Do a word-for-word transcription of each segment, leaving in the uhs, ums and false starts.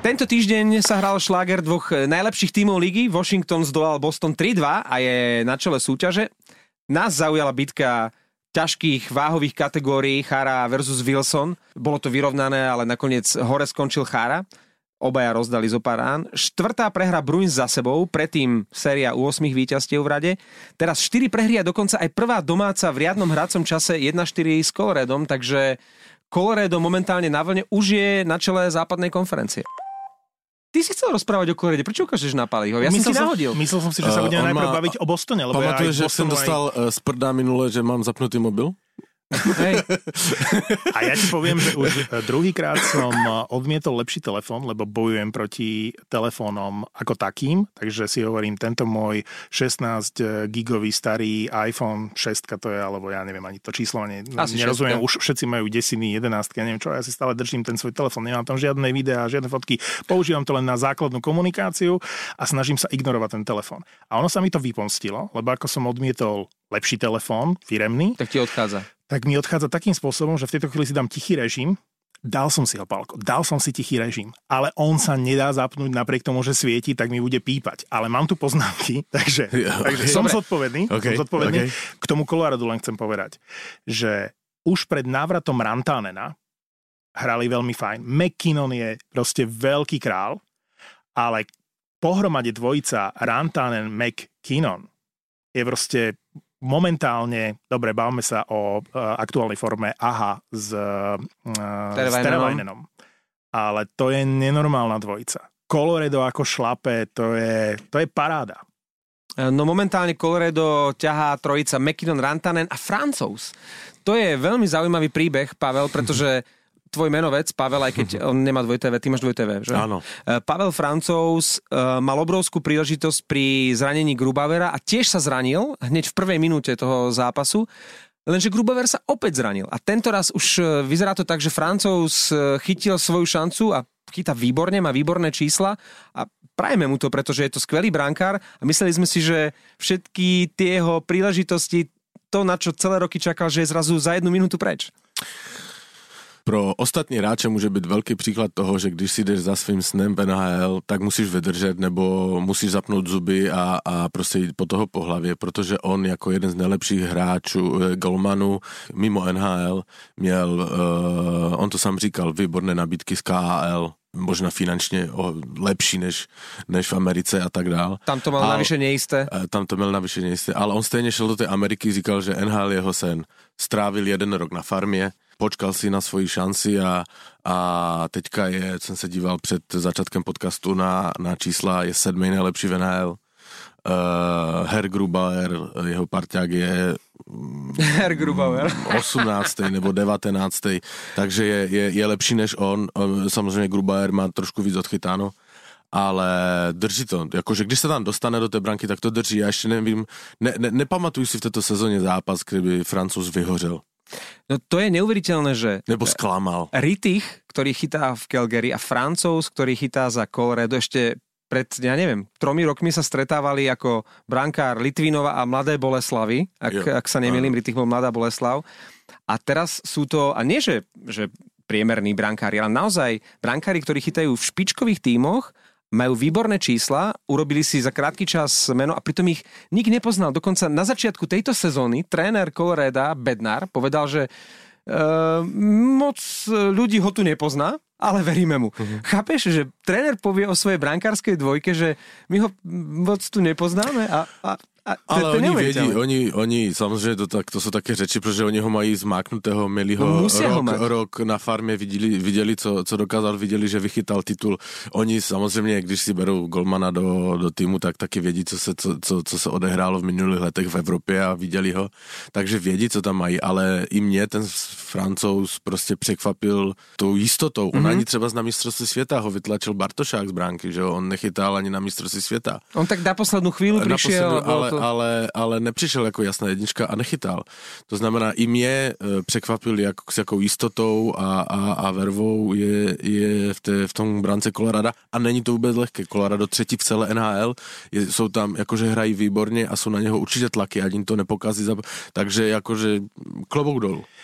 Tento týždeň sa hral šláger dvoch najlepších tímov ligy. Washington zdolal Boston tri dva a je na čele súťaže. Nás zaujala bitka ťažkých váhových kategórií Chara versus Wilson. Bolo to vyrovnané, ale nakoniec hore skončil Chara. Obaja rozdali zo pár rán. Štvrtá prehra Bruins za sebou, predtým séria u ôsmich víťazstiev v rade. Teraz štyri prehry a dokonca aj prvá domáca v riadnom hracom čase jedna štyri s Coloradom, takže Colorado momentálne na vlne už je na čele západnej konferencie. Ty si chcel rozprávať o Colorade, prečo ukážeš na Paliho? Ja myslel som ti nahodil. Som, myslel som si, že sa budeme uh, najprv má... baviť o Bostone. Pamatuješ, že som dostal aj... z prda minule, že mám zapnutý mobil? Hej. A ja ti poviem, že už druhýkrát som odmietol lepší telefón, lebo bojujem proti telefónom ako takým, takže si hovorím, tento môj šestnásť gigový starý iPhone šesť, to je, alebo ja neviem ani to číslo, ne, nerozumiem, už všetci majú desiny, jedenásť, ja neviem čo, ja si stále držím ten svoj telefón, nemám tam žiadne videá, žiadne fotky, používam to len na základnú komunikáciu a snažím sa ignorovať ten telefón. A ono sa mi to vypomstilo, lebo ako som odmietol lepší telefón, firemný, tak ti odchádza. Tak mi odchádza takým spôsobom, že v tejto chvíli si dám tichý režim. Dal som si ho, Pálko, dal som si tichý režim, ale on sa nedá zapnúť napriek tomu, že svieti, tak mi bude pípať. Ale mám tu poznámky, takže, ja, okay. takže som zodpovedný. Okay. Som zodpovedný. Okay. K tomu Coloradu len chcem povedať, že už pred návratom Rantanena hrali veľmi fajn. McKinnon je proste veľký král, ale pohromade dvojica Rantanen-McKinnon je proste momentálne, dobre, bavme sa o uh, aktuálnej forme Aha s, uh, s Terevajnenom. Ale to je nenormálna dvojica. Colorado ako šlape, to je, to je paráda. No momentálne Colorado ťahá trojica McKinnon, Rantanen a Francouz. To je veľmi zaujímavý príbeh, Pavel, pretože tvoj menovec, Pavel, aj keď on nemá dvoj té vé, ty máš dvoj té vé, že? Áno. Pavel Francouz uh, mal obrovskú príležitosť pri zranení Grubauera a tiež sa zranil hneď v prvej minúte toho zápasu, lenže Grubauer sa opäť zranil. A tento raz už vyzerá to tak, že Francouz chytil svoju šancu a chytá výborne, má výborné čísla a prajeme mu to, pretože je to skvelý brankár a mysleli sme si, že všetky tie jeho príležitosti, to, na čo celé roky čakal, že je zrazu za jednu minútu preč. Pro ostatní hráče může být velký příklad toho, že když si jdeš za svým snem v N H L, tak musíš vydržet nebo musíš zapnout zuby a, a prostě jít po toho po hlavě, protože on jako jeden z nejlepších hráčů, golmanů mimo N H L měl, uh, on to sám říkal, výborné nabídky z K H L, možná finančně lepší než, než v Americe a tak dál. Tam to mal navyše nejisté. Tam to měl navyše nejisté, ale on stejně šel do té Ameriky, říkal, že N H L jeho sen. Strávil jeden rok na farmě, počkal si na svoji šanci a, a teďka je, jsem se díval před začátkem podcastu na, na čísla, je sedmý nejlepší v N H L. Uh, Herr Grubauer, jeho parťák je Herr Grubauer osmnáctý nebo devatenáctý, takže je, je, je lepší než on. Samozřejmě Grubauer má trošku víc odchytáno, ale drží to. Jakože když se tam dostane do té branky, tak to drží. Já ještě nevím, ne, ne, nepamatuju si v této sezóně zápas, kdyby Francouz vyhořel. No to je neuveriteľné, že... Nebo sklamal. Rittich, ktorý chytá v Calgary a Francouz, ktorý chytá za Colorado, ešte pred, ja neviem, tromi rokmi sa stretávali ako brankár Litvinova a Mladé Boleslavy, ak, ak sa nemýlim, Rittich bol Mladá Boleslav. A teraz sú to, a nie že, že priemerní brankári, ale naozaj brankári, ktorí chytajú v špičkových tímoch, majú výborné čísla, urobili si za krátky čas meno a pritom ich nik nepoznal. Dokonca na začiatku tejto sezóny tréner Colorada Bednar povedal, že uh, moc ľudí ho tu nepozná, ale veríme mu. Uh-huh. Chápeš, že tréner povie o svojej brankárskej dvojke, že my ho moc tu nepoznáme a... a A to, ale to oni vědí, oni, oni samozřejmě to, tak, to jsou také řeči, protože oni ho mají zmáknutého, měli ho no, rok, ho rok na farmě, viděli, viděli co, co dokázal, viděli, že vychytal titul. Oni samozřejmě, když si berou golmana do, do týmu, tak taky vědí, co se, co, co, co se odehrálo v minulých letech v Evropě a viděli ho, takže vědí, co tam mají, ale i mě ten Francouz prostě překvapil tou jistotou. On mm-hmm. ani třeba na mistrovství světa ho vytlačil Bartošák z bránky, že jo? On nechytal ani na mistrovství světa. On tak na poslednú chvíľu prišiel, ale Ale, ale nepřišel jako jasná jednička a nechytal. To znamená, i mě překvapil, jak, s jakou jistotou a, a, a vervou je, je v, té, v tom brance Colorada a není to vůbec lehké. Colorado třetí v celé N H L, je, jsou tam, jakože hrají výborně a jsou na něho určitě tlaky, ani to nepokazí. Takže jakože klobouk dolů.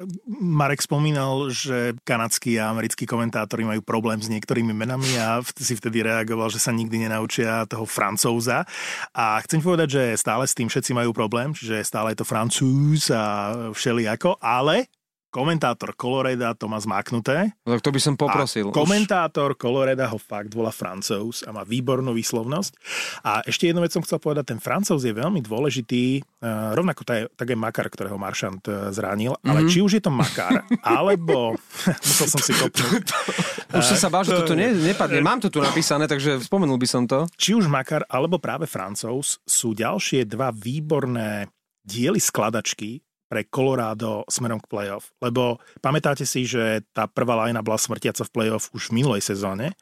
Marek spomínal, že kanadskí a americkí komentátori majú problém s niektorými menami a si vtedy reagoval, že sa nikdy nenaučia toho Francúza. A chcem povedať, že stále s tým všetci majú problém, čiže stále je to Francúz a všelijako, ale komentátor Coloreda to má zmáknuté. Tak to by som poprosil. A komentátor Coloreda ho fakt volá Francúz a má výbornú výslovnosť. A ešte jednu vec som chcel povedať, ten Francúz je veľmi dôležitý, uh, rovnako to je, tak je Makar, ktorého Marchand uh, zranil, mm-hmm. ale či už je to Makar, alebo musel som si kopnúť. Už som sa bál, že toto ne, nepadne. Mám to tu napísané, takže spomenul by som to. Či už Makar, alebo práve Francúz sú ďalšie dva výborné diely skladačky pre Colorado smerom k playoff. Lebo pamätáte si, že tá prvá lajna bola smrtiaca v playoff už v minulej sezóne,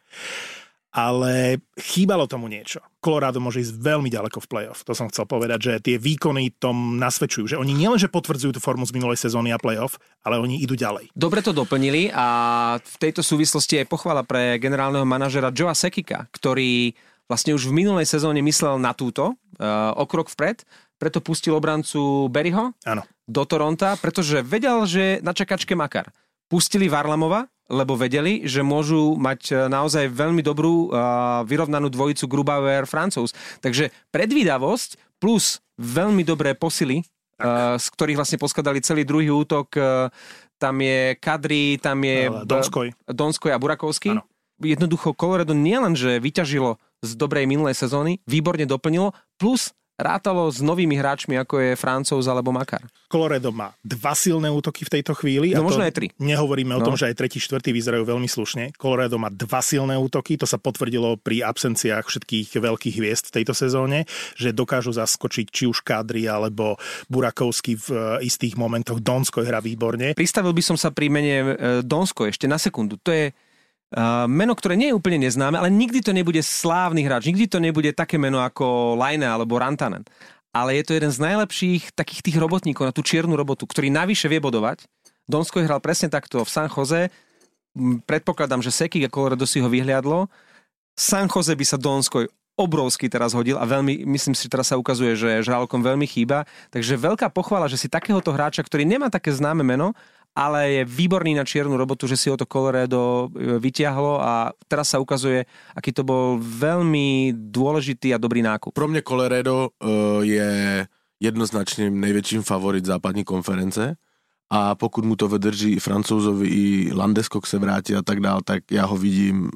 ale chýbalo tomu niečo. Colorado môže ísť veľmi ďaleko v playoff. To som chcel povedať, že tie výkony tom nasvedčujú, že oni nielenže potvrdzujú tú formu z minulej sezóny a playoff, ale oni idú ďalej. Dobre to doplnili a v tejto súvislosti je pochvala pre generálneho manažera Joea Sekika, ktorý vlastne už v minulej sezóne myslel na túto, uh, o krok vpred, preto pustil obrancu Berryho Áno. do Toronta, pretože vedel, že na čakačke Makar. Pustili Varlamova, lebo vedeli, že môžu mať naozaj veľmi dobrú uh, vyrovnanú dvojicu Grubauer-Francúz. Takže predvídavosť plus veľmi dobré posily, uh, z ktorých vlastne poskladali celý druhý útok. Uh, tam je Kadri, tam je Donskoj, Donskoj a Burakovský. Áno. Jednoducho Colorado nielen, že vyťažilo z dobrej minulej sezóny, výborne doplnilo, plus rátalo s novými hráčmi, ako je Francúz alebo Makar. Colorado má dva silné útoky v tejto chvíli. No a možno to aj tri. Nehovoríme o no. tom, že aj tretí, štvrtý vyzerajú veľmi slušne. Colorado má dva silné útoky, to sa potvrdilo pri absenciách všetkých veľkých hviezd v tejto sezóne, že dokážu zaskočiť či už Kadri alebo Burakovský v istých momentoch. Donskoj hrá výborne. Pristavil by som sa pri mene Donskoj ešte na sekundu. To je Uh, meno, ktoré nie je úplne neznáme, ale nikdy to nebude slávny hráč, nikdy to nebude také meno ako Laine alebo Rantanen. Ale je to jeden z najlepších takých tých robotníkov na tú čiernu robotu, ktorý navyše vie bodovať. Donskoj hral presne takto v San Jose. Predpokladám, že Sekik a Colorado si ho vyhliadlo. San Jose by sa Donskoj obrovský teraz hodil a veľmi, myslím si, že teraz sa ukazuje, že žralokom veľmi chýba. Takže veľká pochvala, že si takéhoto hráča, ktorý nemá také známe meno, ale je výborný na čiernu robotu, že si ho to Colorado vytiahlo a teraz sa ukazuje, aký to bol veľmi dôležitý a dobrý nákup. Pro mňa Colorado uh, je jednoznačne největším favorit západní konference a pokud mu to vydrží Francouzovi i Landeskog se vrátí a tak dál, tak já ho vidím,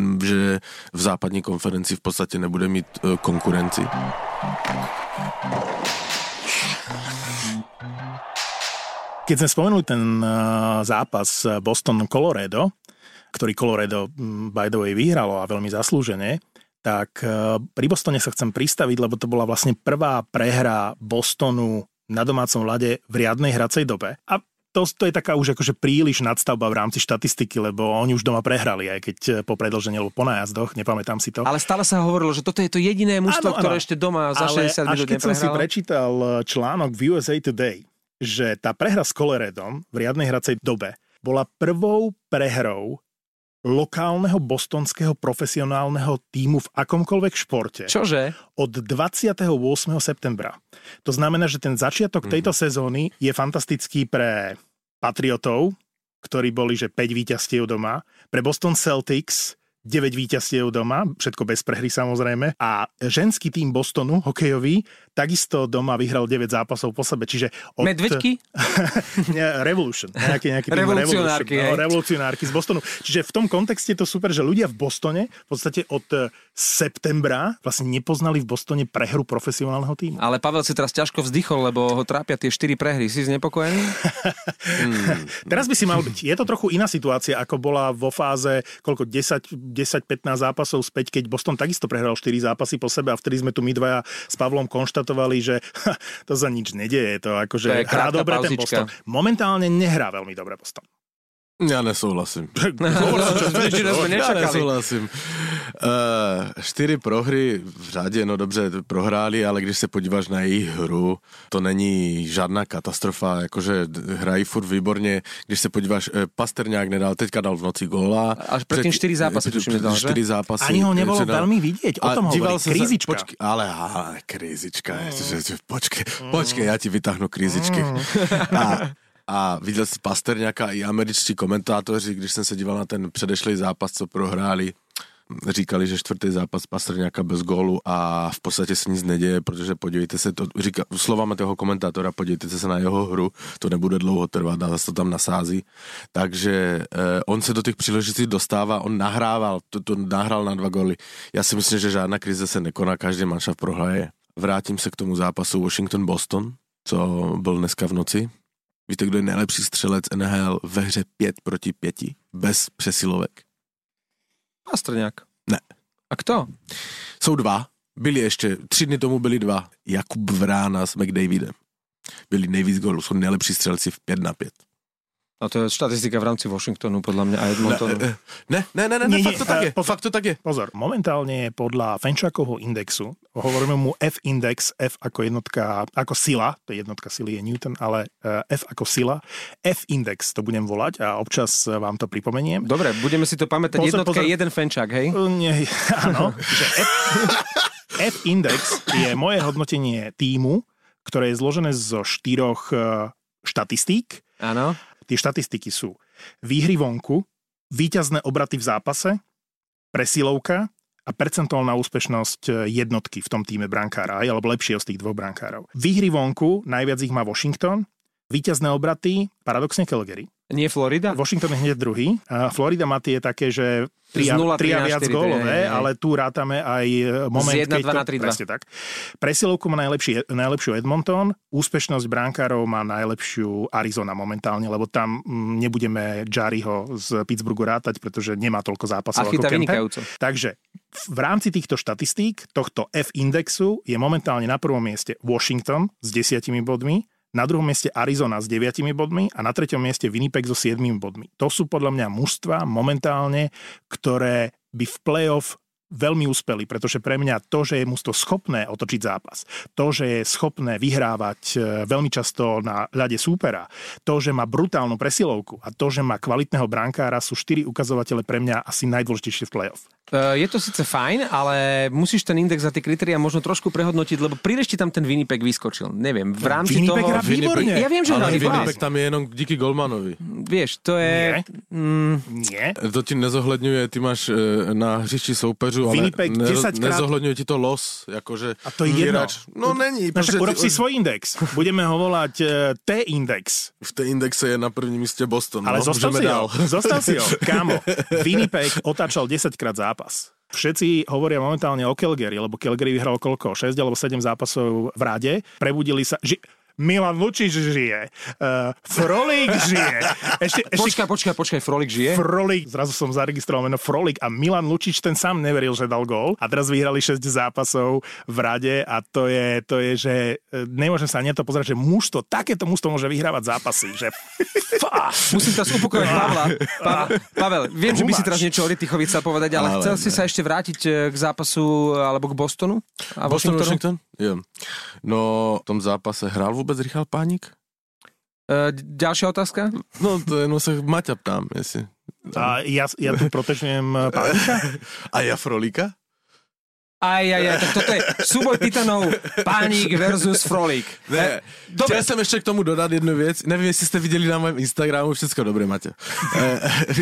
že v západní konferenci v podstatě nebude mít uh, konkurenci. Keď sme spomenuli ten zápas Boston-Colorado, ktorý Colorado, by the way, vyhralo a veľmi zaslúžene, tak pri Bostone sa chcem pristaviť, lebo to bola vlastne prvá prehra Bostonu na domácom ľade v riadnej hracej dobe. A to, to je taká už akože príliš nadstavba v rámci štatistiky, lebo oni už doma prehrali, aj keď po predĺžení alebo po nájazdoch, nepamätám si to. Ale stále sa hovorilo, že toto je to jediné mužstvo, ktoré ešte doma za šesťdesiat minút neprehralo. Ale až keď som si prečítal článok v U S A Today, že tá prehra s Coloradom v riadnej hracej dobe bola prvou prehrou lokálneho bostonského profesionálneho tímu v akomkoľvek športe. Čože? Od dvadsiateho ôsmeho septembra. To znamená, že ten začiatok mm-hmm. tejto sezóny je fantastický pre Patriotov, ktorí boli, že päť víťazstiev doma, pre Boston Celtics deväť víťazstiev doma, všetko bez prehry samozrejme. A ženský tím Bostonu, hokejový, takisto doma vyhral deväť zápasov po sebe. Čiže od... Medvedky? Revolution. Nejaký, nejaký tým Revolucionárky. Revolution, no, revolucionárky z Bostonu. Čiže v tom kontexte je to super, že ľudia v Bostone v podstate od septembra vlastne nepoznali v Bostone prehru profesionálneho tímu. Ale Pavel si teraz ťažko vzdychol, lebo ho trápia tie štyri prehry. Si znepokojený? hmm. Teraz by si mal byť. Je to trochu iná situácia, ako bola vo fáze koľko desať desať pätnásť zápasov späť, keď Boston takisto prehral štyri zápasy po sebe a vtedy sme tu my dvaja s Pavlom konštatovali, že ha, to sa nič nedieje. To akože to hrá dobre ten Boston. Momentálne nehrá veľmi dobre Boston. Ja nesouhlasím. Ja nesouhlasím. Uh, čtyři prohry v řadě, no dobře, prohráli, ale když se podíváš na jejich hru, to není žádná katastrofa, jakože hrají furt výborně. Když se podíváš, Pasterňák nedal, teďka dal v noci góla. Až predtým štyri zápasy, tuším, nedal, že? štyri zápasy. Ani ho nebolo veľmi vidieť, o tom hovorí, krízička. Počkej, ale, ale krízička, mm. počkej, počkej, ja ti vytáhnu krízičky. Mm. A A viděl jsi Pasterňáka i američtí komentátoři, když jsem se díval na ten předešlý zápas, co prohráli, říkali, že čtvrtý zápas Pasterňáka bez gólu a v podstatě se nic neděje, protože podívejte se, to říká, slovama toho komentátora, podívejte se na jeho hru, to nebude dlouho trvat a zase to tam nasází. Takže eh, on se do těch příležitostí dostává, on nahrával, to, to nahrál na dva góly. Já si myslím, že žádná krize se nekoná, každý manšaft prohraje. Vrátím se k tomu zápasu Washington-Boston, co byl dneska v noci. Víte, kdo je nejlepší střelec N H L ve hře pět proti pěti, bez přesilovek? Pastrňák. Ne. A kto? Jsou dva. Byli ještě, tři dny tomu byli dva. Jakub Vrána s McDavidem. Byli nejvíc gólů, jsou nejlepší střelci v pět na pět. A to je štatistika v rámci Washingtonu, podľa mňa, a Edmontonu. Ne, ne, ne, ne, ne, fakt to tak je. Po, fakt to tak je. Pozor, momentálne podľa Fenčákovho indexu, hovoríme mu F-index, F ako jednotka, ako sila, to je jednotka sily je Newton, ale F ako sila, F-index to budem volať a občas vám to pripomeniem. Dobre, budeme si to pamätať, pozor, jednotka pozor. Je jeden Fenčák, hej? Nie, áno, že F, F-index je moje hodnotenie tímu, ktoré je zložené zo štyroch štatistík. Áno. Tie štatistiky sú výhry vonku, víťazné obraty v zápase, presilovka a percentuálna úspešnosť jednotky v tom týme brankára, alebo lepšieho z tých dvoch brankárov. Výhry vonku, najviac ich má Washington, víťazné obraty, paradoxne Calgary. Nie Florida? Washington je hneď druhý. A Florida má tie také, že tri a viac gólové, ale tu rátame aj moment, z jedna, keď to... Presne tak. Presilovku má najlepší, najlepšiu Edmonton, úspešnosť brankárov má najlepšiu Arizona momentálne, lebo tam nebudeme Jarryho z Pittsburghu rátať, pretože nemá toľko zápasov ako Kemper. Takže v rámci týchto štatistík, tohto F-indexu je momentálne na prvom mieste Washington s desiatimi bodmi, na druhom mieste Arizona s deviatimi bodmi a na treťom mieste Winnipeg so siedmimi bodmi. To sú podľa mňa mužstvá momentálne, ktoré by v play-off veľmi úspeli, pretože pre mňa to, že je mužstvo schopné otočiť zápas, to, že je schopné vyhrávať veľmi často na ľade súpera, to, že má brutálnu presilovku a to, že má kvalitného brankára, sú štyri ukazovatele pre mňa asi najdôležitejšie v play-off. Je to síce fajn, ale musíš ten index za tie kritériá možno trošku prehodnotiť, lebo príliš ti tam ten Winnipeg vyskočil. Neviem, v rámci Winnipeg toho... Hrá výborne. Ja viem, že ale hrá Winnipeg tam je jenom díky Golmanovi. Vieš, to je... Nie. Mm... Nie. To ti nezohľadňuje, ty máš na hřišti soupeřu, ale ne, nezohľadňuje ti to los. Akože a to je jedno. No není. No však urob si svoj index. Budeme ho volať uh, T-index. V T-indexe je na prvním míste Boston. Ale no? zostav si ho. Zostav si ho. Kámo, Winnipeg otáčal desaťkrát zápas. Všetci hovoria momentálne o Calgary, lebo Calgary vyhral koľko? šesť alebo sedem zápasov v rade. Prebudili sa... Ži- Milan Lučič žije. Uh, Frolík žije. Ešte, ešte... Počkaj, počkaj, počkaj, Frolík žije? Frolík. Zrazu som zaregistroval meno Frolík a Milan Lučič ten sám neveril, že dal gól. A teraz vyhrali šesť zápasov v rade a to je, to je že nemôžem sa ani to pozerať, že mužstvo, takéto mužstvo môže vyhrávať zápasy. Že... Musím teraz upokojať Pavla. Pa- Pavel, viem, že by si teraz niečo o Ritychovi chcel povedať, ale, ale chcel ne. si sa ešte vrátiť k zápasu alebo k Bostonu? A Boston, Washington? Jo. No, v tom zápase hral vôbec Richard Pánik? E, ďalšia otázka? No, to je, no sa Maťa ptám, jestli. A ja, ja tu protečujem Pánika? A ja Frolíka? Aj, aj, aj, tak toto je súboj titanov Pánik versus Frolík. Ne, chtěl jsem ještě k tomu dodat jednu věc. Nevím, jestli jste viděli na mém Instagramu, všecko dobré, Maťo. E, e,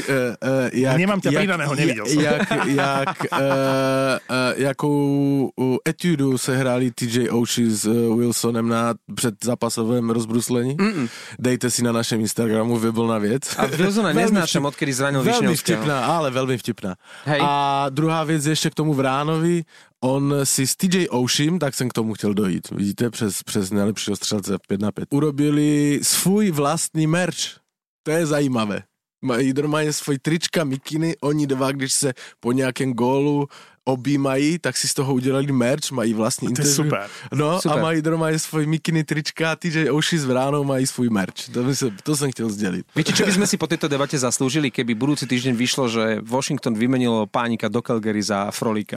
e, jak, Nemám ťa pridaného, nevidel som. Jak, jak, e, e, jakou etudu se hráli T J Oshie s Wilsonem na předzápasovém rozbruslení. Mm-mm. Dejte si na našem Instagramu, vyblná věc. A Wilsona neznášam, odkedy zranil Višňovského. Veľmi vtipná, ale veľmi vtipná. Hej. A druhá věc ještě k tomu Vránovi. On si s T J Oshiem, tak jsem k tomu chtěl dojít, vidíte, přes, přes nejlepšího střelce pět na pět. Urobili svůj vlastní merch. To je zajímavé. Mají normálně svoj trička, mikiny, oni dva, když se po nějakém gólu objímají, tak si z toho udělali merch, mají vlastní interview. To je super. No super. A mají normálně svoj mikiny, trička, T J Oshie s Vránou mají svůj merch. To, by se, to jsem chtěl sdělit. Viete, čo by sme si po tejto debate zaslúžili, keby budúci týždeň vyšlo, že Washington vymenilo Pánika do Calgary za Frolíka?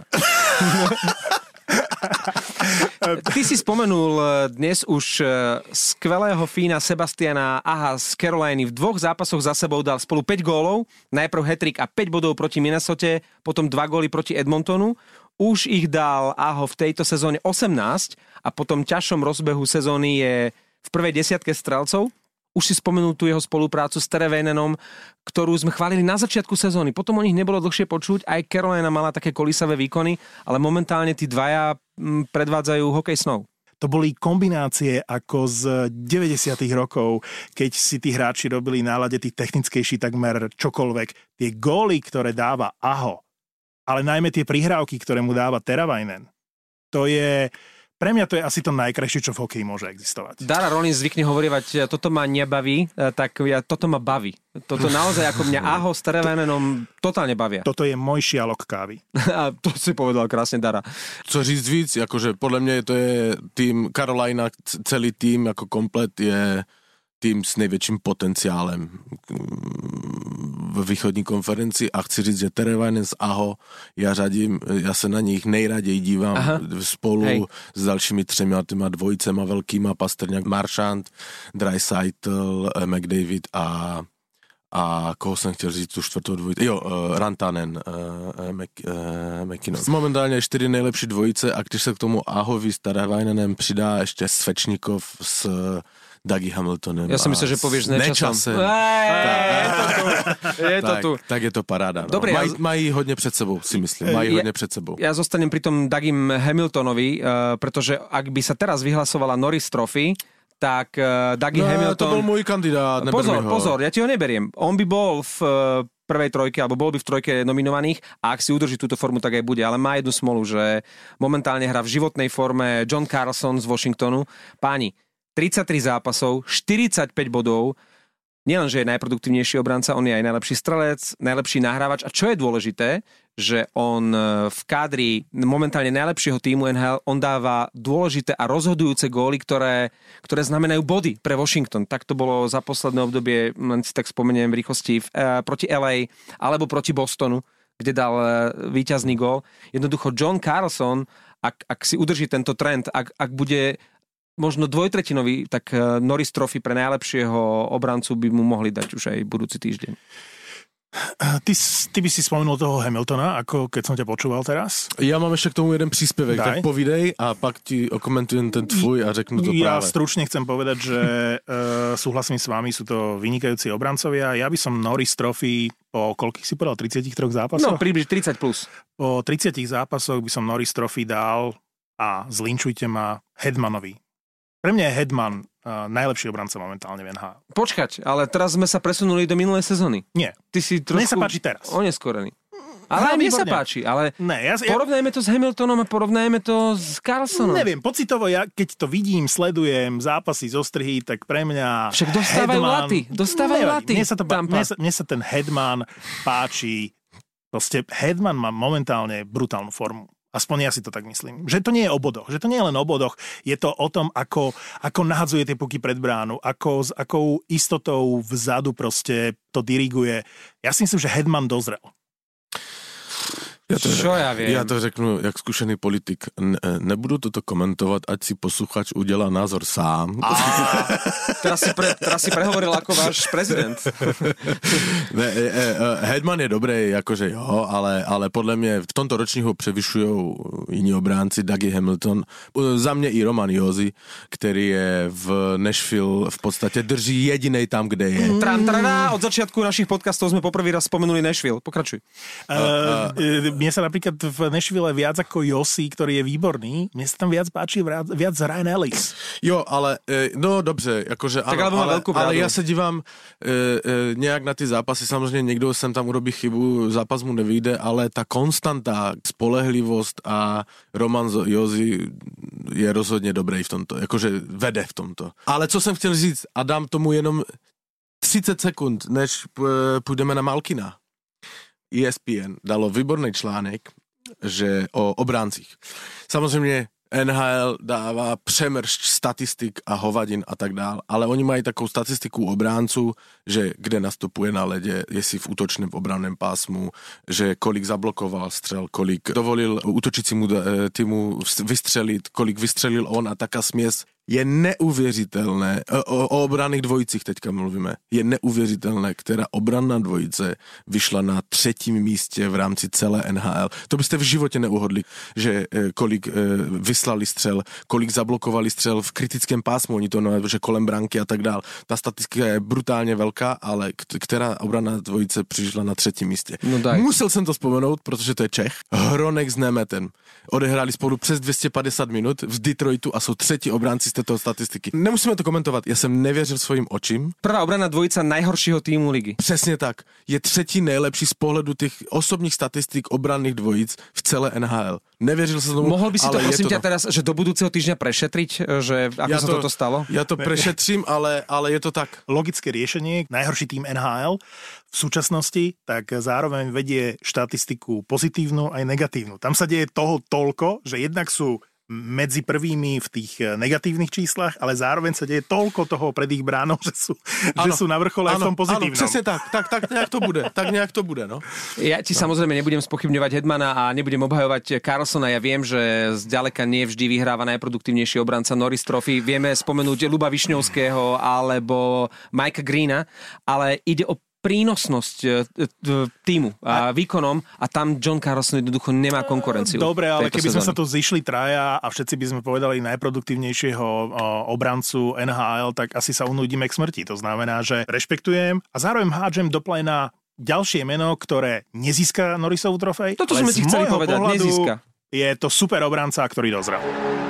Ty si spomenul dnes už skvelého Fína Sebastiana Aha z Caroliny. V dvoch zápasoch za sebou dal spolu päť gólov. Najprv hat-trick a päť bodov proti Minnesote, potom dva góly proti Edmontonu. Už ich dal Aho v tejto sezóne osemnásť a po tom ťažšom rozbehu sezóny je v prvej desiatke strelcov. už si spomenul tú jeho spoluprácu s Teravainen, ktorú sme chválili na začiatku sezóny. Potom o nich nebolo dlhšie počuť, aj Carolina mala také kolísavé výkony, ale momentálne tí dvaja predvádzajú hokej snov. To boli kombinácie ako z deväťdesiatych rokov, keď si tí hráči robili nálade tých technickejší takmer čokoľvek. Tie góly, ktoré dáva Aho, ale najmä tie prihrávky, ktoré mu dáva Teravainen, to je... Pre mňa to je asi to najkrajšie, čo v hokeji môže existovať. Dara Rollins zvykne hovorievať, toto ma nebaví, tak ja, toto ma baví. Toto naozaj ako mňa Aho s Teravainenom totálne bavia. Toto je môj šialok kávy. A to si povedal krásne, Dara. Co říct víc, akože podľa mňa to je tým Carolina, celý tým ako komplet je tým s největším potenciálem v východní konferenci a chci říct, že Teravainen s Aho, já řadím, já se na nich nejraději dívám Aha. spolu Hej. s dalšími třema těma dvojicema velkýma, Pastrňák, Marchand, Draisaitl, McDavid a a koho jsem chtěl říct tu čtvrtou dvojici? Jo, uh, Rantanen, uh, Mac, uh, McKinnon. Momentálně čtyři nejlepší dvojice a když se k tomu Ahovi s Teravainenem přidá ještě Svečníkov s Dougie Hamiltonem. Ja som myslel, že povieš s Nečasem. Je to tu. Tak je to paráda. No. Dobre, Maj, ja... mají hodně před sebou, si myslím. Mají ja, hodně před sebou. Ja zostanem pri tom Dougiem Hamiltonovi, uh, pretože ak by sa teraz vyhlasovala Norris Trophy, tak uh, Dougie no, Hamilton... to bol môj kandidát. Pozor, pozor, ja ti ho neberiem. On by bol v uh, prvej trojke, alebo bol by v trojke nominovaných a ak si udrží túto formu, tak aj bude. Ale má jednu smolu, že momentálne hrá v životnej forme John Carlson z Washingtonu. Páni, tridsaťtri zápasov, štyridsaťpäť bodov, nielen, že je najproduktívnejší obranca, on je aj najlepší strelec, najlepší nahrávač a čo je dôležité, že on v kádri momentálne najlepšieho týmu en há el, on dáva dôležité a rozhodujúce góly, ktoré, ktoré znamenajú body pre Washington. Tak to bolo za posledné obdobie, len si tak spomeniem v rýchlosti, v, eh, proti el ej alebo proti Bostonu, kde dal eh, víťazný gól. Jednoducho John Carlson, ak, ak si udrží tento trend, ak, ak bude možno dvojtretinový, tak Norris Trophy pre najlepšieho obrancu by mu mohli dať už aj budúci týždeň. Ty, ty by si spomenul toho Hamiltona, ako keď som ťa počúval teraz? Ja mám ešte k tomu jeden príspevek, Daj. tak povídej a pak ti okomentujem ten tvoj a řeknu to ja práve. Ja stručne chcem povedať, že uh, súhlasím s vami, sú to vynikajúci obrancovia. Ja by som Norris Trophy po koľkých si povedal, tridsiatich troch zápasoch? No, približne tridsať plus. Po tridsiatich zápasoch by som Norris Trophy dal a zlinčujte ma Hedmanovi. Pre mňa je Hedman uh, najlepší obranca momentálne v en há el. Počkať, ale teraz sme sa presunuli do minulej sezóny. Nie. Ty si trošku... Mne sa páči teraz. Oneskorený. Ale aj mne sa páči, ale ne, ja, porovnajme to s Hamiltonom a porovnajme to s Carlsonom. Neviem, pocitovo, ja keď to vidím, sledujem zápasy zo strihy, tak pre mňa Však dostávajú Hedman, laty, dostávajú laty. Mne sa, to, mne, sa, mne sa ten Hedman páči. Proste Hedman má momentálne brutálnu formu. Aspoň ja si to tak myslím. Že to nie je o bodoch. Že to nie je len o bodoch. Je to o tom, ako, ako nahadzuje tie puky pred bránu, ako s akou istotou vzadu proste to diriguje. Ja si myslím, že Hedman dozrel. Ja to, Čo ja viem? Ja to řeknu, jak zkušený politik. Ne, nebudu toto komentovat, ať si posluchač udělá názor sám. A, teraz, si pre, teraz si prehovoril ako váš prezident. Ne, e, e, Hedman je dobrý, jakože jo, ale, ale podle mě v tomto ročníku převyšují jiní obránci, Dougie Hamilton. Za mě i Roman Josi, který je v Nashville v podstatě drží jedinej tam, kde je. Mm. Tram, tradá, od začiatku našich podcastov sme poprvý raz spomenuli Nashville. Pokračuj. Uh, uh, Mne sa napríklad v Nashville viac ako Josi, ktorý je výborný, mne sa tam viac páči viac Ryan Ellis. Jo, ale, no dobře, jakože tak ano, ale, ale ja ja sa divám e, e, nejak na ty zápasy, samozřejmě někdo sem tam urobí chybu, zápas mu nevyjde, ale ta konstanta, spolehlivost a Roman Josi je rozhodně dobrý v tomto, jakože vede v tomto. Ale co jsem chtěl říct, a dám tomu jenom třicet sekund, než půjdeme na Malkina. é es pé en dalo výborný článek, že o obráncích. Samozřejmě en há el dává přemršť statistik a hovadin a tak dál, ale oni mají takovou statistiku obránců, že kde nastupuje na ledě, jestli v útočném, v obranném pásmu, že kolik zablokoval střel, kolik dovolil útočícímu týmu vystřelit, kolik vystřelil on a taká směs je neuvěřitelné, o, o obranných dvojicích teďka mluvíme, je neuvěřitelné, která obranná dvojice vyšla na třetím místě v rámci celé N H L. To byste v životě neuhodli, že kolik vyslali střel, kolik zablokovali střel v kritickém pásmu, oni to no, že kolem branky a tak dál. Ta statistika je brutálně velká, ale která obranná dvojice přišla na třetím místě. No musel jsem to vzpomenout, protože to je Čech. Hronek s Nemetem. Odehráli spolu přes dvě stě padesát minut v Detroitu a jsou třetí obránci z této statistiky. Nemusíme to komentovat, já jsem nevěřil svojim očím. Prvá obranná dvojica najhoršího týmu ligy. Přesně tak. Je třetí nejlepší z pohledu těch osobních statistik obranných dvojic v celé N H L. Nevěřil jsem tomu. Mohl by si to prosím ťa teraz, že do budúceho týždňa prešetriť, že ako ja sa to, toto stalo? Ja to prešetrím, ale, ale je to tak. Logické riešenie, najhorší tým N H L v súčasnosti, tak zároveň vedie štatistiku pozitívnu aj negatívnu. Tam sa deje toho toľko, že jednak sú medzi prvými v tých negatívnych číslach, ale zároveň sa deje toľko toho pred ich bránou, že sú, že sú na vrchole aj v tom pozitívnom. Áno, presne tak, tak, tak nejak to bude, tak nejak to bude, no. Ja ti no. samozrejme nebudem spochybňovať Hedmana a nebudem obhajovať Karlsona, ja viem, že zďaleka nie vždy vyhráva najproduktívnejší obranca Norris Trophy, vieme spomenúť Ľuba Višňovského alebo Mikea Greena, ale ide o prínosnosť týmu a výkonom a tam John Carlson jednoducho nemá konkurenciu. Dobre, ale keby sezóny. sme sa tu zišli traja a všetci by sme povedali najproduktívnejšieho obrancu N H L, tak asi sa unudíme k smrti. To znamená, že rešpektujem a zároveň hádžem do pléna ďalšie meno, ktoré nezíska Norrisovú trofej. Toto sme si chceli povedať, nezíska. Je to super obranca, ktorý dozrel.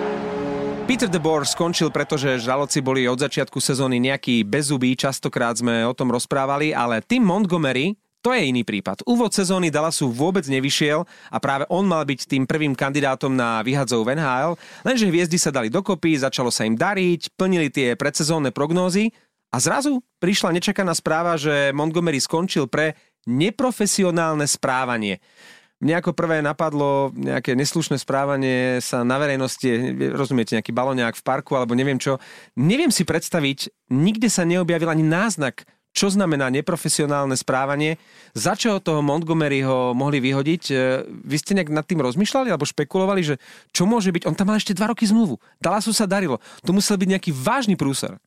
Peter DeBoer skončil, pretože žraloci boli od začiatku sezóny nejaký bezzubí, častokrát sme o tom rozprávali, ale Tim Montgomery, to je iný prípad. Úvod sezóny Dallasu vôbec nevyšiel a práve on mal byť tým prvým kandidátom na vyhadzov v N H L, lenže hviezdy sa dali dokopy, začalo sa im dariť, plnili tie predsezónne prognózy a zrazu prišla nečakaná správa, že Montgomery skončil pre neprofesionálne správanie. Mne ako prvé napadlo nejaké neslušné správanie sa na verejnosti, rozumiete, nejaký baloňák v parku alebo neviem čo. Neviem si predstaviť, nikde sa neobjavil ani náznak, čo znamená neprofesionálne správanie. Za čo toho Montgomeryho mohli vyhodiť? Vy ste nejak nad tým rozmýšľali alebo špekulovali, že čo môže byť? On tam mal ešte dva roky zmluvu. Dallasu sa darilo. To musel byť nejaký vážny prúser.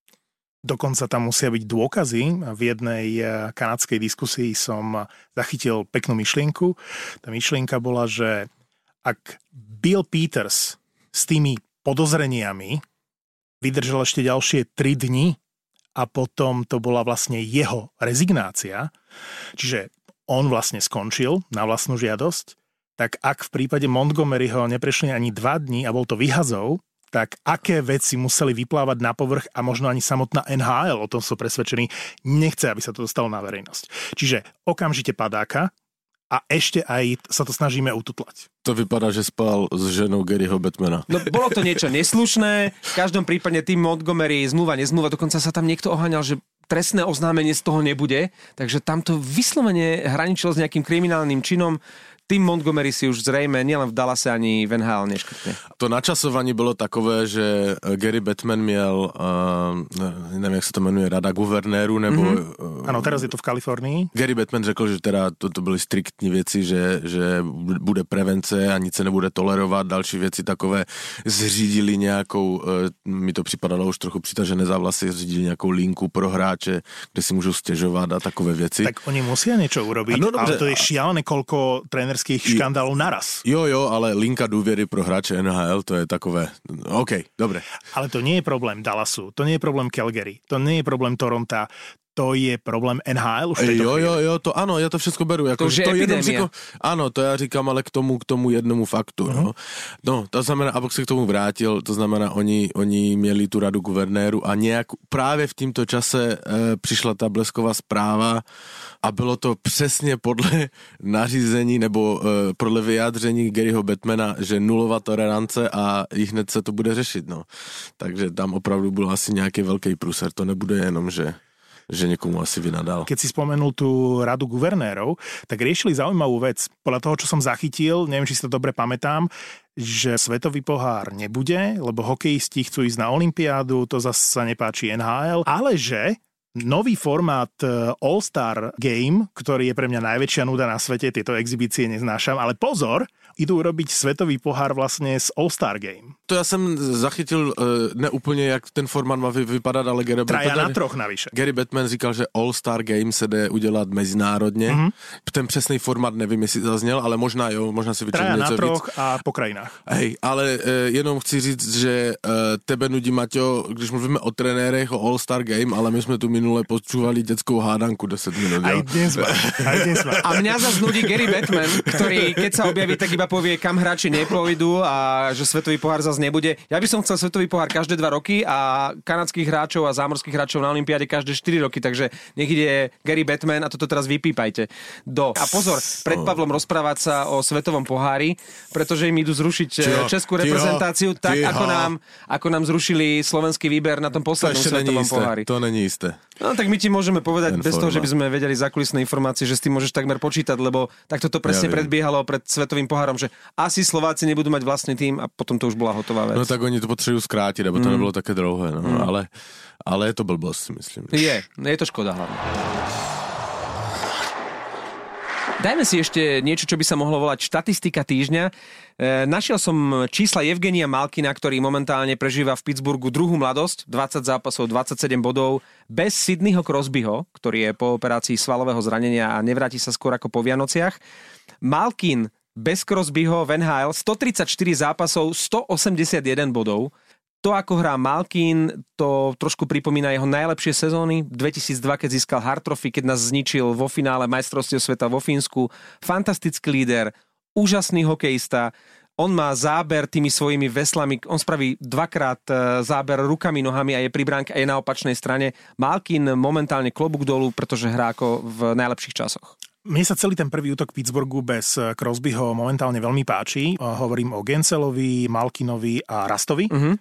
Dokonca tam musia byť dôkazy. V jednej kanadskej diskusii som zachytil peknú myšlienku. Tá myšlienka bola, že ak Bill Peters s tými podozreniami vydržal ešte ďalšie tri dni a potom to bola vlastne jeho rezignácia, čiže on vlastne skončil na vlastnú žiadosť, tak ak v prípade Montgomeryho neprešli ani dva dni a bol to vyhazov, tak aké veci museli vyplávať na povrch a možno ani samotná N H L, o tom som presvedčený, nechce, aby sa to dostalo na verejnosť. Čiže okamžite padáka a ešte aj sa to snažíme ututlať. To vypadá, že spal s ženou Garyho Bettmana. No bolo to niečo neslušné, v každom prípade tým Montgomery zmluva, nezmluva, dokonca sa tam niekto oháňal, že trestné oznámenie z toho nebude, takže tam to vyslovene hraničilo s nejakým kriminálnym činom. Tým Montgomery si už zrejme nielen v Dallase ani v N H L neškrtne. To načasovanie bylo takové, že Gary Bettman měl, uh, nevím, jak se to jmenuje, rada guvernéru, nebo... Mm-hmm. Ano, teraz je to v Kalifornii. Gary Bettman řekl, že teda to, to byly striktní věci, že, že bude prevence a nic se nebude tolerovat, další věci takové zřídili nějakou, uh, mi to připadalo už trochu přitažené za vlasy, zřídili nějakou linku pro hráče, kde si můžou stěžovat a takové věci. Tak oni musia niečo urobiť, no, ale to je šialené, koľko tréner škandálov naraz. Jo, jo, ale linka důvěry pro hráče N H L, to je takové... OK, dobre. Ale to nie je problém Dallasu, to nie je problém Calgary, to nie je problém Toronta, to je problém N H L už v tejto Jo, chvíli. jo, jo, to ano, já to všechno beru. Jako, to už je epidémia. Říkám, ano, to já říkám, ale k tomu, k tomu jednomu faktu. Uh-huh. No. no, to znamená, abych se k tomu vrátil, to znamená, oni, oni měli tu radu guvernéru a nějak právě v tímto čase e, přišla ta blesková zpráva a bylo to přesně podle nařízení nebo e, podle vyjádření Garyho Bettmana, že nulová tolerance a i hned se to bude řešit. No. Takže tam opravdu byl asi nějaký velký průser. To nebude jenom, že že niekomu asi vynadal. Keď si spomenul tú radu guvernérov, tak riešili zaujímavú vec. Podľa toho, čo som zachytil, neviem, či si to dobre pamätám, že svetový pohár nebude, lebo hokejisti chcú ísť na olympiádu, to zase sa nepáči N H L, ale že nový formát All-Star Game, ktorý je pre mňa najväčšia nuda na svete, tieto exhibície neznášam, ale pozor, idú robiť svetový pohár vlastne z All-Star Game. To ja jsem zachytil uh, ne úplně, jak ten formát má vypadat, ale Gary Traja Batman, na troch navyše. Gary Batman říkal, že All-Star Game se jde udělat mezinárodně. Mm-hmm. Ten přesný formát nevím, jestli zazněl, ale možná jo, možná si vyčetl něco víc. Traja na troch a po krajinách. Hej, ale uh, jenom chci říct, že uh, tebe nudí, Maťo, když mluvíme o trenérech, o All-Star Game, ale my jsme tu minule počúvali dětskou hádanku deset minut. Aj dnes má, aj dnes má. A mňa zase nudí Gary Batman, ktorý keď sa objaví, tak iba povie, kam hráči nepôjdu a že svetový pohár zase nebude. Ja by som chcel svetový pohár každé dva roky a kanadských hráčov a zámorských hráčov na olympiáde každé štyri roky, takže nech ide Gary Batman a toto teraz vypípajte. Do. A pozor, pred Pavlom rozprávať sa o svetovom pohári, pretože im idú zrušiť tiho, českú reprezentáciu tiho, tak, tiho. Ako, nám, ako nám zrušili slovenský výber na tom poslednom to svetovom isté, pohári. To není isté. No tak my ti môžeme povedať ten bez forma. toho, že by sme vedeli zákulisné informácie, že s tým môžeš takmer počítať, lebo takto to presne ja predbiehalo pred svetovým pohárom, že asi Slováci nebudú mať vlastný tým a potom to už bola hotová vec. No tak oni to potřebujú skrátiť, aby to mm. nebylo také dlouhé, no. Mm. ale, ale je to blbosť, si myslím. Je, je to škoda hlavne. Dajme si ešte niečo, čo by sa mohlo volať štatistika týždňa. E, našiel som čísla Evgenia Malkina, ktorý momentálne prežíva v Pittsburghu druhú mladosť, dvadsať zápasov, dvadsaťsedem bodov, bez Sydneyho Crosbyho, ktorý je po operácii svalového zranenia a nevráti sa skôr ako po Vianociach. Malkin bez Crosbyho v en há el stotridsaťštyri zápasov, stoosemdesiatjeden bodov. To, ako hrá Malkin, to trošku pripomína jeho najlepšie sezóny. dvetisícdva, keď získal Hart Trophy, keď nás zničil vo finále majstrovstiev sveta vo Fínsku. Fantastický líder, úžasný hokejista. On má záber tými svojimi veslami. On spraví dvakrát záber rukami, nohami a je pri bránke a je na opačnej strane. Malkin momentálne klobúk dolu, pretože hrá ako v najlepších časoch. Mne sa celý ten prvý útok Pittsburghu bez Crosbyho momentálne veľmi páči. Hovorím o Gencelovi, Malkinovi a Rastovi. Uh-huh.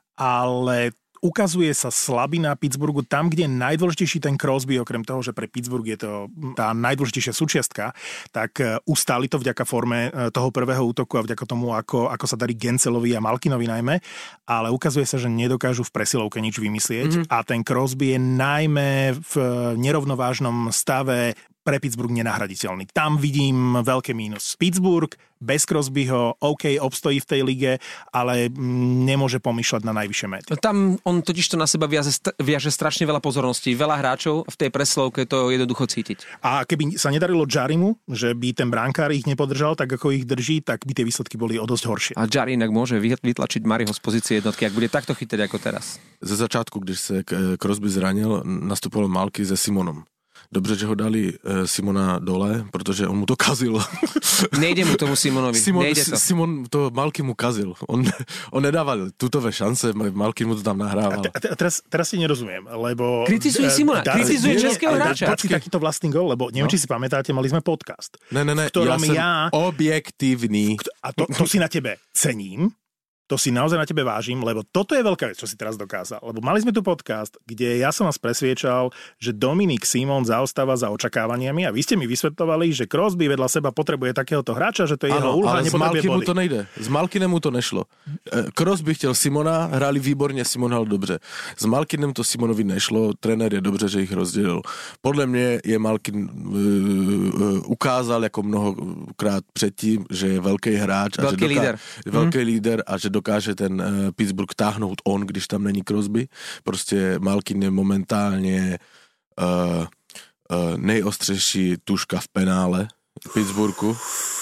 Ale ukazuje sa slabina Pittsburghu tam, kde je najdôležitejší ten Crosby, okrem toho, že pre Pittsburgh je to tá najdôležitejšia súčiastka, tak ustáli to vďaka forme toho prvého útoku a vďaka tomu, ako, ako sa darí Gencelovi a Malkinovi najmä, ale ukazuje sa, že nedokážu v presilovke nič vymyslieť mm-hmm. a ten Crosby je najmä v nerovnovážnom stave pre Pittsburgh nenahraditeľný. Tam vidím veľké mínus. Pittsburgh bez Crosbyho, OK, obstojí v tej lige, ale nemôže pomýšľať na najvyššie mety. Tam on totiž to na seba viaže, viaže strašne veľa pozorností. Veľa hráčov v tej preslovke to jednoducho cítiť. A keby sa nedarilo Jarimu, že by ten brankár ich nepodržal tak, ako ich drží, tak by tie výsledky boli o dosť horšie. A Jari inak môže vytlačiť Mariho z pozície jednotky, ak bude takto chytať ako teraz. Ze začátku, když se Crosby zranil, nastupoval Malky se Simonom. Dobře, že ho dali e, Simona dole, protože on mu to kazil. Nejde mu tomu Simonovi. Simon, Nejde to. Simon to Malky mu kazil. On, on nedával tutové šance, Malky mu to tam nahrával. A, te, a teraz, teraz si nerozumiem, lebo... Kritizuje Simona, dar, kritizuje českého hráča. Počkej takýto vlastný gol, lebo neviem, no. či si pamätáte, mali sme podcast. Ne, ne, ne, ja som ja... objektívny. A to, to si na tebe cením. To si naozaj na tebe vážim, lebo toto je veľká vec, čo si teraz dokázal. Lebo mali sme tu podcast, kde ja som vás presviečal, že Dominik Simon zaostáva za očakávaniami a vy ste mi vysvetľovali, že Crosby vedľa seba potrebuje takéhoto hráča, že to je jeho úloha, nepotrebuje body. Ale s to nejde. S Malkinem mu to nešlo. Crosby chtěl Simona, hráli výborně, Simon hrál dobře. S Malkinem to Simonovi nešlo, trenér je dobře, že ich rozdělil. Podle mě je Malkin uh, uh, ukázal jako mnohokrát předtím, že je velký hráč a velký že doká- líder. Velký hmm. líder a že dokáže ten uh, Pittsburgh táhnout on, když tam není Crosby. Prostě Malkin je momentálně uh, uh, nejostřejší tuška v penále v Pittsburghu.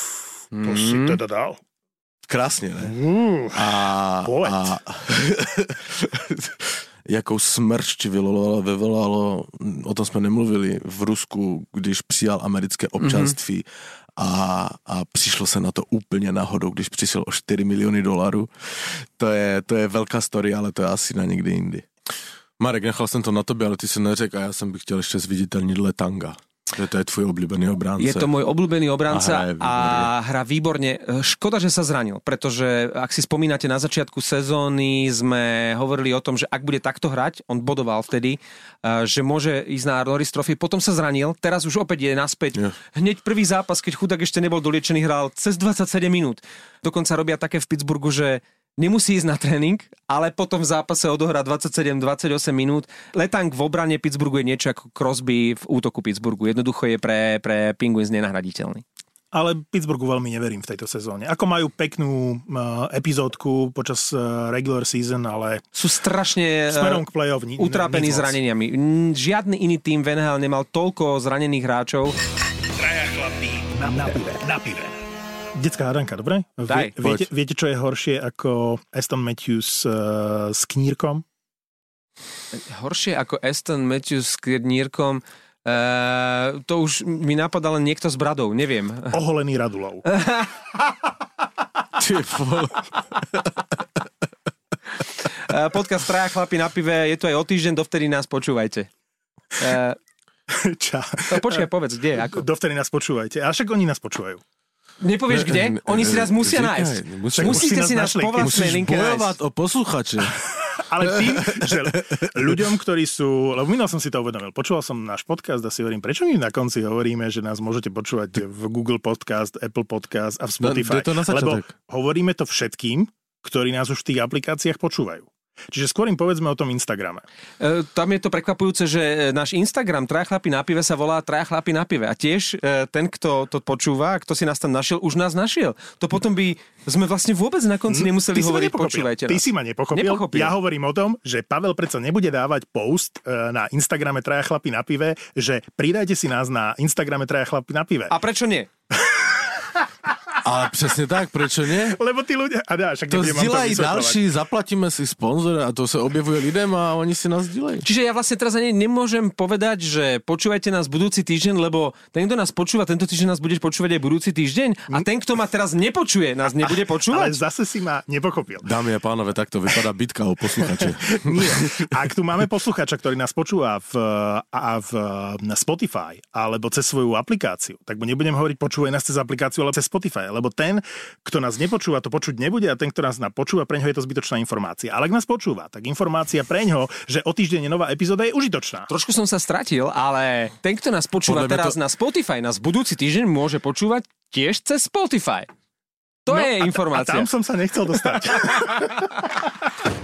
To si teda dal. Krásně, ne? Uh, a, a jakou smršť vyvolalo, vyvolalo, o tom jsme nemluvili, v Rusku, když přijal americké občanství mm-hmm. A, a přišlo se na to úplně náhodou, když přišel o štyri milióny dolarů. To je, to je velká story, ale to je asi na někdy jindy. Marek, nechal jsem to na tobě, ale ty si neřekl a já jsem bych chtěl ještě zviditeľniť Letanga. Že to je tvoj obľúbený obránca. Je to môj obľúbený obránca a, a hrá výborne. Škoda, že sa zranil, pretože ak si spomínate, na začiatku sezóny sme hovorili o tom, že ak bude takto hrať, on bodoval vtedy, že môže ísť na Norris Trophy, potom sa zranil, teraz už opäť je naspäť. Yeah. Hneď prvý zápas, keď chudák ešte nebol doliečený, hral cez dvadsaťsedem minút. Dokonca robia také v Pittsburghu, že nemusí ísť na tréning, ale potom v zápase odohrá dvadsaťsedem dvadsaťosem minút. Letang v obrane Pittsburghu je niečo ako Crosby v útoku Pittsburghu. Jednoducho je pre, pre Penguins nenahraditeľný. Ale Pittsburghu veľmi neverím v tejto sezóne. Ako majú peknú uh, epizódku počas uh, regular season, ale sú strašne smerom k play-off ni- utrápení zraneniami. Žiadny iný tým v en há el nemal toľko zranených hráčov. Traja chlapí na, na pive, na pive. Detská hádanka, dobre? Daj, Vie, viete, viete, čo je horšie ako Aston Matthews uh, s knírkom? Horšie ako Aston Matthews s knírkom? Uh, to už mi napadá len niekto s bradou, neviem. Oholený Radulov. Podcast Traja chlapi na pive je tu aj o týždeň, dovtedy nás počúvajte. Uh, Ča. Počkaj, povedz, kde? Ako? Dovtedy nás počúvajte. A však oni nás počúvajú. Nepovieš kde? Oni si nás musia Říkaj, nájsť. musí- Musíte si nás našli. po vlastnej Musíš linke bojovať nájsť. o posluchače. Ale tým, že ľuďom, ktorí sú... Lebo minul som si to uvedomil. Počúval som náš podcast a si hovorím, prečo my na konci hovoríme, že nás môžete počúvať v Google Podcast, Apple Podcast a v Spotify. No, to na Lebo začiatok. hovoríme to všetkým, ktorí nás už v tých aplikáciách počúvajú. Čiže skôr im povedzme o tom Instagrame. E, tam je to prekvapujúce, že náš Instagram Traja chlapi na pive sa volá Traja chlapi na pive. A tiež e, ten, kto to počúva, kto si nás tam našiel, už nás našiel. To potom by sme vlastne vôbec na konci nemuseli Ty si ma hovoriť, nepochopil. počúvajte nás. Ty si ma nepochopil. Nepochopil. Ja hovorím o tom, že Pavel predsa nebude dávať post e, na Instagrame Traja chlapi na pive, že pridajte si nás na Instagrame Traja chlapi na pive. A prečo nie? Ale presne tak, prečo nie? Lebo tí ľudia... A dá, však To nebudem vám zdieľajú vysvetľovať. ďalší, zaplatíme si sponzora a to sa objavuje ľuďom a oni si nás zdieľajú. Čiže ja vlastne teraz ani nemôžem povedať, že počúvajte nás budúci týždeň, lebo ten, kto nás počúva, tento týždeň nás budeš počúvať aj budúci týždeň a ten, kto ma teraz nepočuje, nás nebude Ale počúvať. zase si ma nepochopil. Dámy a pánové, takto vypadá bitka o posluchače. Nie. Ak tu máme posluchača, ktorý nás počúva v, a v, na Spotify alebo cez svoju aplikáciu, tak mu nebudem hovoriť počúvaj nás cez aplikáciu, ale cez Spotify, lebo ten, kto nás nepočúva, to počuť nebude a ten, kto nás počúva, preňho je to zbytočná informácia. Ale ak nás počúva, tak informácia preňho, že o týždeň je nová epizóda, je užitočná. Trošku som sa stratil, ale ten, kto nás počúva Podľa mňa teraz to- na Spotify, nás budúci týždeň môže počúvať tiež cez Spotify. To No, je a, informácia. A tam som sa nechcel dostať.